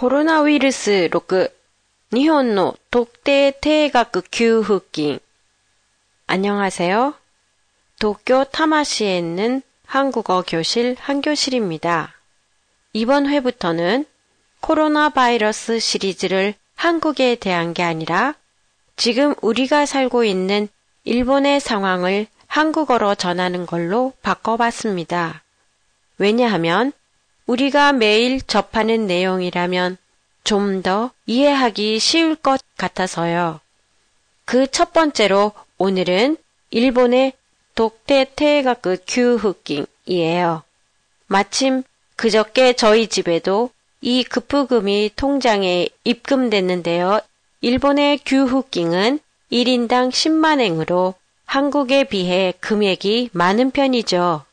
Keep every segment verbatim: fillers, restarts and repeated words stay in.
コロナウイルス録日本の特定定額給付金. 안녕하세요. 도쿄 타마시에 있는 한국어 교실 한교실입니다. 이번 회부터는 코로나 바이러스 시리즈를 한국에 대한 게 아니라 지금 우리가 살고 있는 일본의 상황을 한국어로 전하는 걸로 바꿔봤습니다. 왜냐하면 우리가 매일 접하는 내용이라면 좀 더 이해하기 쉬울 것 같아서요. 그 첫 번째로 오늘은 일본의 독대 태가크 규후킹이에요. 마침 그저께 저희 집에도 이 급부금이 통장에 입금됐는데요. 일본의 규후킹은 일 인당 십만 엔으로 한국에 비해 금액이 많은 편이죠.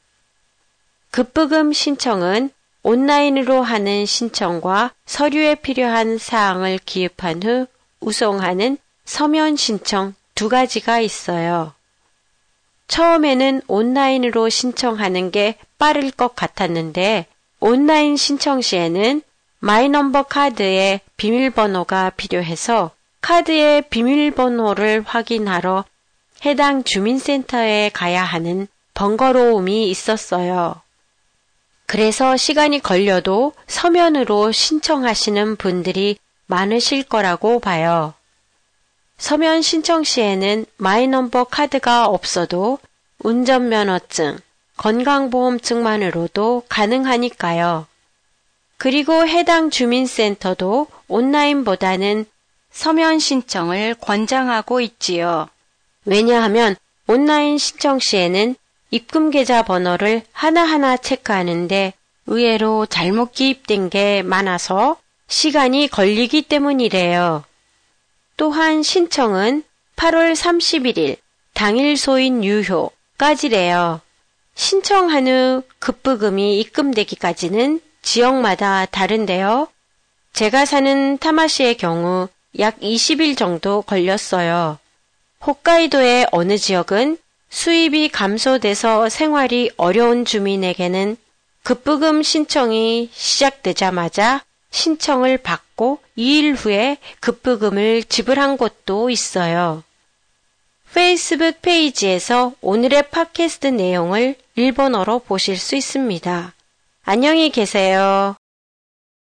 급부금 신청은 온라인으로 하는 신청과 서류에 필요한 사항을 기입한 후 우송하는 서면 신청 두 가지가 있어요. 처음에는 온라인으로 신청하는 게 빠를 것 같았는데 온라인 신청 시에는 마이넘버 카드에 비밀번호가 필요해서 카드의 비밀번호를 확인하러 해당 주민센터에 가야 하는 번거로움이 있었어요. 그래서 시간이 걸려도 서면으로 신청하시는 분들이 많으실 거라고 봐요. 서면 신청 시에는 마이넘버 카드가 없어도 운전면허증, 건강보험증만으로도 가능하니까요. 그리고 해당 주민센터도 온라인보다는 서면 신청을 권장하고 있지요. 왜냐하면 온라인 신청 시에는 입금 계좌 번호를 하나하나 체크하는데 의외로 잘못 기입된 게 많아서 시간이 걸리기 때문이래요. 또한 신청은 팔월 삼십일일 당일 소인 유효까지래요. 신청한 후 급부금이 입금되기까지는 지역마다 다른데요. 제가 사는 타마시의 경우 약 이십 일 정도 걸렸어요. 홋카이도의 어느 지역은 수입이 감소돼서 생활이 어려운 주민에게는 급부금 신청이 시작되자마자 신청을 받고 이 일 후에 급부금을 지불한 곳도 있어요. 페이스북 페이지에서 오늘의 팟캐스트 내용을 일본어로 보실 수 있습니다. 안녕히 계세요.